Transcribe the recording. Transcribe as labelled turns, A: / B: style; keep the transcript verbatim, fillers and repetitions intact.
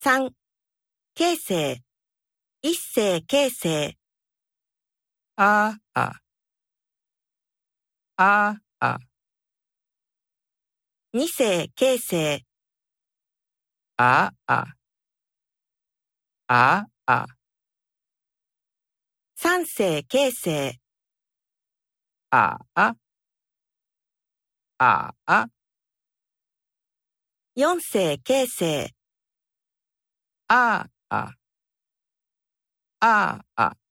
A: さん、形成、一世形成、
B: ああ、ああ、
A: 二世形成、
B: ああ、ああ、
A: 三世形成、
B: ああ、ああ、
A: 四世形成、
B: ああ、ああ、